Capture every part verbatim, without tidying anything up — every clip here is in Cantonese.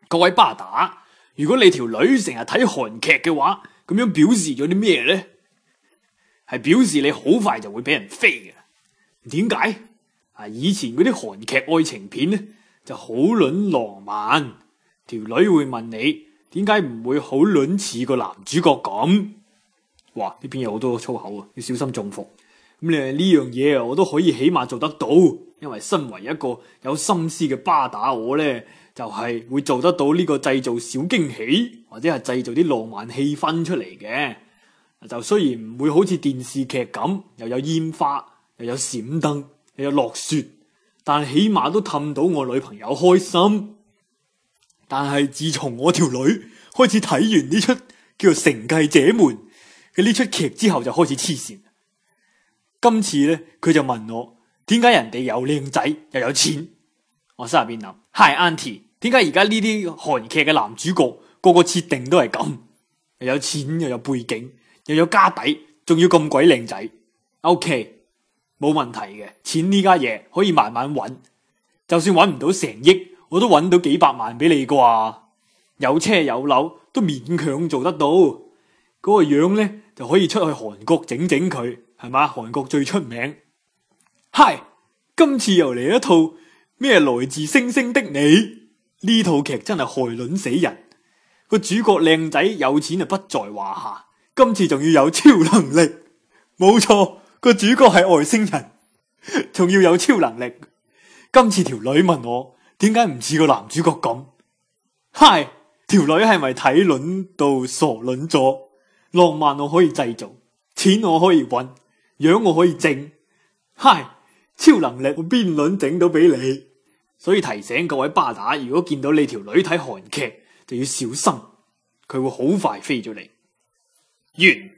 各位巴打，如果你條女成日睇韓劇嘅話，咁樣表示咗啲咩呢？係表示你好快就會俾人飛嘅。點解？啊，以前嗰啲韓劇愛情片呢就好撚浪漫，條女會問你點解唔會好撚似個男主角咁？哇！呢邊有好多粗口啊，要小心中伏。咁你呢樣嘢啊，我都可以起碼做得到，因為身為一個有心思嘅巴打，我呢就係、是、會做得到呢個製造小驚喜，或者係製造啲浪漫氣氛出嚟嘅。就雖然唔會好似電視劇咁，又有煙花，又有閃燈，又有落雪，但起碼都氹到我女朋友開心。但係自從我條女開始睇完呢出叫做《承繼者們》嘅呢出劇之後，就開始黐線。今次咧，佢就問我點解人哋又靚仔又有錢？我心入邊諗 ，Hi Auntie， 點解而家呢啲韓劇嘅男主角個個設定都係咁，又有錢又有背景又有家底，仲要咁鬼靚仔 ？OK， 冇問題嘅，錢呢家嘢可以慢慢揾，就算揾唔到成億，我都揾到幾百萬俾你啩。有車有樓都勉強做得到，嗰、那個樣咧就可以出去韓國整整佢。係嘛？韓國最出名。嗨，今次又嚟一套咩來自星星的你？呢套劇真係害卵死人。個主角靚仔有錢就不在話下，今次仲要有超能力。冇錯，個主角係外星人，仲要有超能力。今次條女問我點解唔似個男主角咁？嗨，條女係咪睇卵到傻卵咗？浪漫我可以製造，錢我可以搵。樣我可以整，嗨，超能力我邊輪整到俾你，所以提醒各位巴打，如果見到你條女睇韓劇，就要小心，佢會好快飛咗你。完。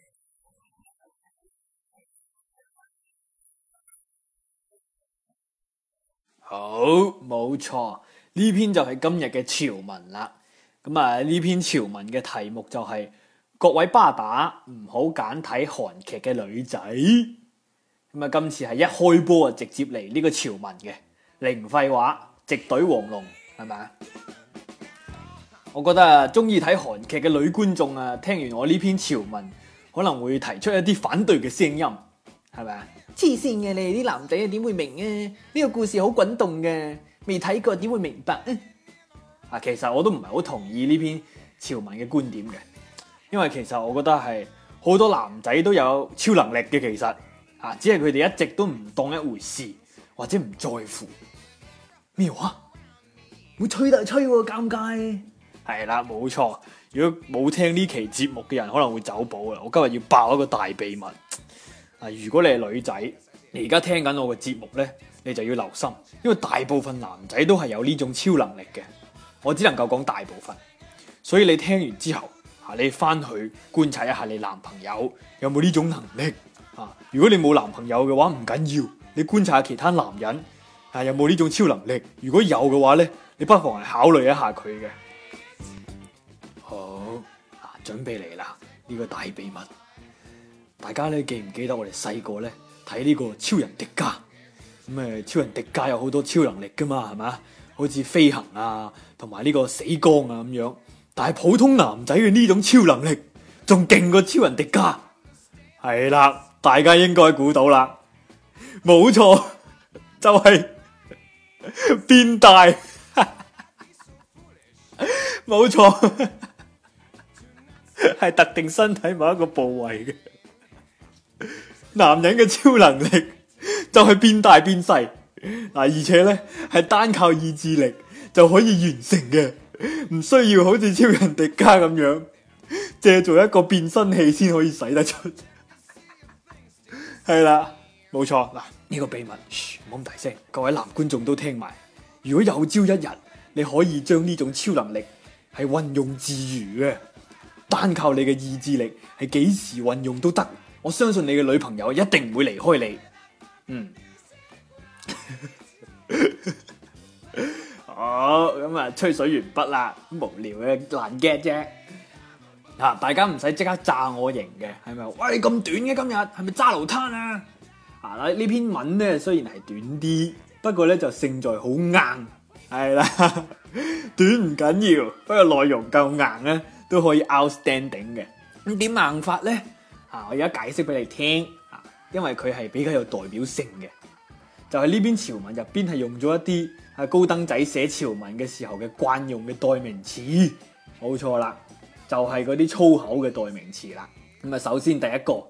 好，冇錯，呢篇就係今日嘅潮文啦。咁啊，呢篇潮文嘅題目就係、是。各位巴打唔好揀睇韓劇嘅女仔，咁啊今次係一開波啊直接嚟呢個潮文嘅，零廢話，直懟黃龍，係咪啊？我覺得啊，中意睇韓劇嘅女觀眾啊，聽完我呢篇潮文，可能會提出一啲反對嘅聲音，係咪啊？黐線嘅，你哋啲男仔啊點會明啊？呢、這個故事好滾動嘅，未睇過點會明白啊？啊，其實我都唔係好同意呢篇潮文嘅觀點嘅。因為其實我覺得係好多男仔都有超能力嘅，其實啊，只係佢哋一直都唔當一回事，或者唔在乎。咩話？會吹就吹喎，尷尬。係啦，冇錯。如果冇聽呢期節目嘅人可能會走寶啦。我今日要爆一個大秘密。啊，如果你係女仔，你而家聽緊我嘅節目咧，你就要留心，因為大部分男仔都係有呢種超能力嘅。我只能夠講大部分，所以你聽完之後。你翻去觀察一下你男朋友有冇呢種能力啊？如果你冇男朋友嘅話唔緊要，你觀察下其他男人啊有冇呢種超能力。如果有嘅話咧，你不妨係考慮一下佢嘅。好啊，準備嚟啦！呢個大秘密，大家咧記唔記得我哋細個咧睇呢個超人迪迦？咁誒，超人迪迦有好多超能力噶嘛，係咪？好似飛行啊，同埋呢個死光啊咁樣。但係普通男仔嘅呢種超能力仲勁過超人迪迦，係啦，大家應該估到啦，冇錯，就係、是、變大，冇錯，係特定身體某一個部位嘅。男人嘅超能力就係變大變細，嗱，而且咧係單靠意志力就可以完成嘅。唔需要好似超人迪迦咁樣借做一個變身器先可以使得出，係啦，冇錯嗱，呢、這個秘密，噓，唔好咁大聲，各位男觀眾都聽埋。如果有朝一日你可以將呢種超能力係運用自如嘅，單靠你嘅意志力係幾時運用都得，我相信你嘅女朋友一定唔會離開你。嗯。好，咁啊，吹水完畢啦，無聊嘅爛 get 啫。嗱，大家唔使即刻炸我型嘅，係咪？喂，咁短嘅今日，係咪揸流灘啊？啊，呢篇文咧雖然係短啲，不過咧就勝在好硬。 係啦，短唔緊要，不過內容夠硬咧，都可以 outstanding 嘅。咁點硬法咧？啊，我而家解釋俾你聽啊，因為佢係比較有代表性嘅。就係呢篇潮文入邊係用咗一啲啊高登仔寫潮文嘅時候嘅慣用嘅代名詞，冇錯啦，就係嗰啲粗口嘅代名詞啦。咁啊，首先第一個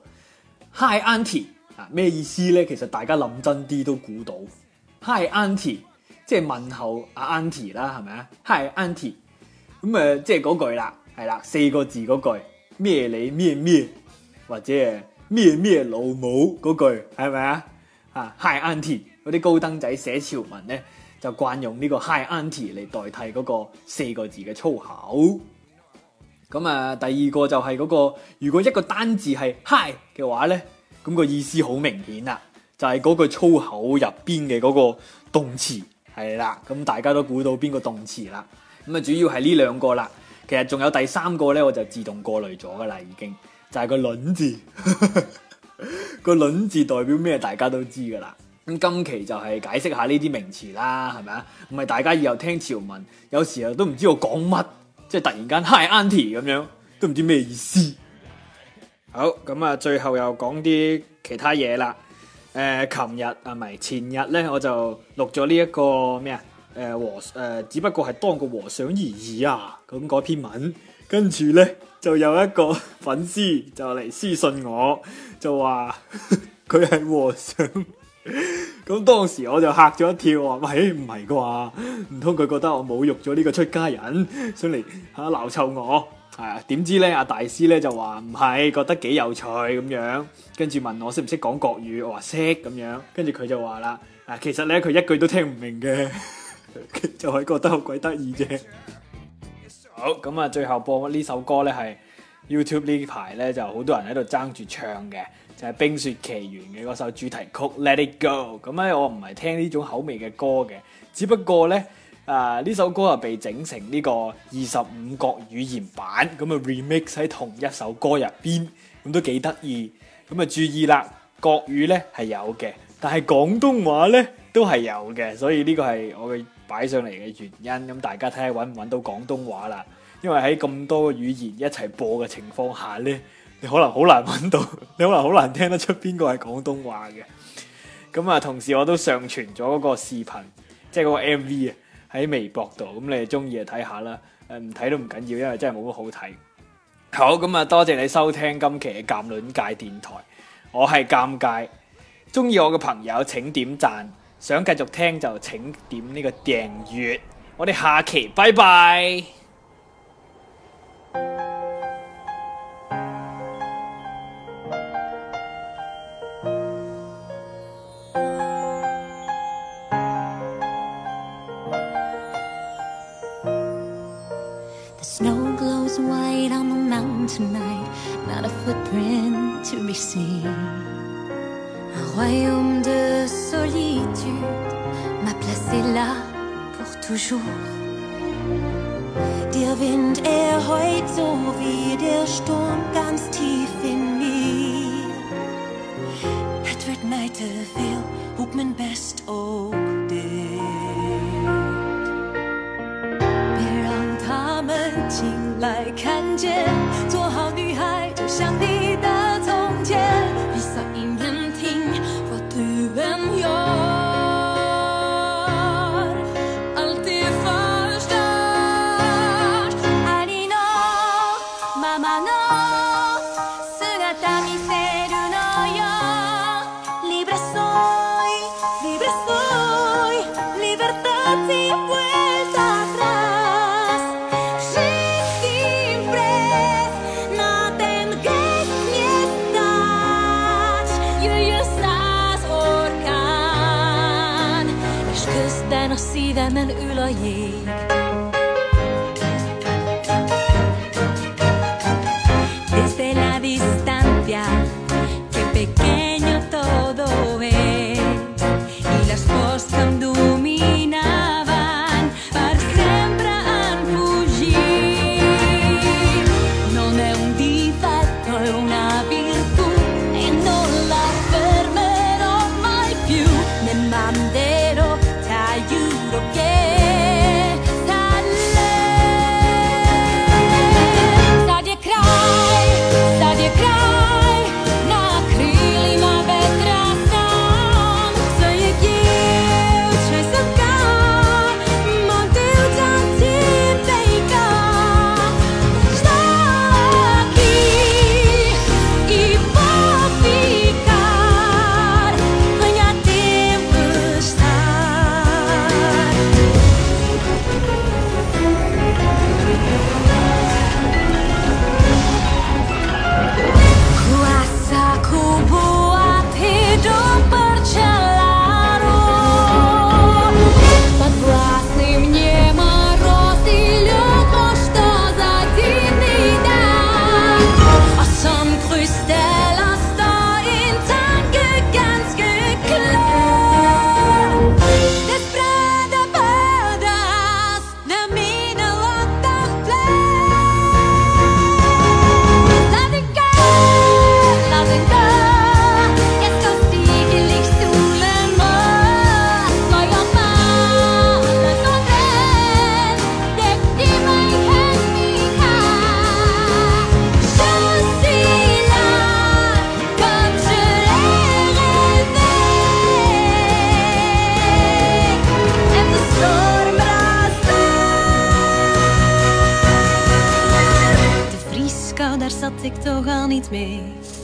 Hi Auntie 啊，咩意思咧？其實大家諗真啲都估到 Hi Auntie 即係問候阿 Auntie 啦，係咪啊 Hi Auntie 咁啊，即係嗰句啦，係啦，四個字嗰句咩你咩咩，或者係咩咩老母嗰句，係咪啊？啊 Hi Auntie 嗰啲高登仔寫潮文咧，就慣用呢個 Hi Auntie 嚟代替嗰個四個字嘅粗口。咁啊，第二個就係嗰個，如果一個單字係 Hi 嘅話咧，咁個意思好明顯啦，就係嗰句粗口入邊嘅嗰個動詞係啦。咁大家都估到邊個動詞啦？咁啊，主要係呢兩個啦。其實仲有第三個咧，我就自動過濾咗噶啦，已經就係個卵字。個卵字代表咩？大家都知噶啦。咁今期就係解釋下呢啲名詞啦，係咪啊？唔係大家以後聽潮文，有時候都唔知我講乜，即係突然間 Hi Auntie 咁樣，都唔知咩意思。好，咁啊，最後又講啲其他嘢啦。誒、呃，琴日啊，唔係前日咧，我就錄咗呢一個咩啊？誒、呃、和誒、呃，只不過係當個和尚而已啊。咁嗰篇文，跟住咧就有一個粉絲就嚟私信我，就話佢係和尚。咁當時我就嚇咗一跳，話喂，唔係啩？唔通佢覺得我侮辱咗呢個出家人，想嚟吓鬧臭我？係啊，點知咧阿大師咧就話唔係，覺得幾有趣咁樣，跟住問我識唔識講國語，我話識咁樣，跟住佢就話啦，啊其實咧佢一句都聽唔明嘅，就係覺得好鬼得意啫。好，咁啊，最後播呢首歌咧係 YouTube 呢排咧就好多人喺度爭住唱嘅。就係《冰雪奇緣》嘅嗰首主題曲《Let It Go》。咁咧，我唔係聽呢種口味嘅歌嘅，只不過咧，啊呢首歌啊被整成呢個二十五國語言版，咁啊 remix 喺同一首歌入邊，咁都幾得意。咁啊注意啦，國語咧係有嘅，但係廣東話咧都係有嘅，所以呢個係我嘅擺上嚟嘅原因。咁大家睇下揾唔揾到廣東話啦？因為喺咁多個語言一齊播嘅情況下咧。你可能好難揾到，你可能好難聽得出邊個係廣東話嘅。咁啊，同時我都上傳咗嗰個視頻，即係嗰個 M V 啊，喺微博度。咁你哋中意就睇下啦，誒唔睇都唔緊要，因為真係冇乜好睇。好，咁啊，多謝你收聽今期嘅鑑論界電台，我係鑑界。中意我嘅朋友請點讚，想繼續聽就請點呢個訂閱。我哋下期拜拜。 Snow glows white on the mountain tonight, not a footprint to be seen. Un royaume de solitude m'a placé là pour toujours. Der Wind, er heult so wie der Sturm ganz tief in mir. Het werd mij te veel, hoek mijn best ook dit. 醒来看见，做好女孩就像你的从前。闭上眼听，vad du än gör, alltid förstört. Ari no mama no sugata miseru no yo. Libre soy, libre soy, libertad sin vuelta atrás. Den a szívemen ül a jég. Desde la distancia, qué pequeño todo es. Y las cosas que em dominaven per sempre han fugit. Non è un difetto, è una virtù e non la fermerò mai più. Ne manderò aiuto che meet me.